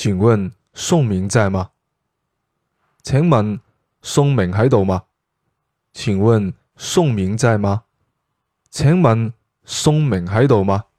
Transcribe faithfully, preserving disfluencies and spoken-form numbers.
請問宋明在嗎？請問宋明喺度嗎？請問宋明在嗎？請問宋明喺度嗎？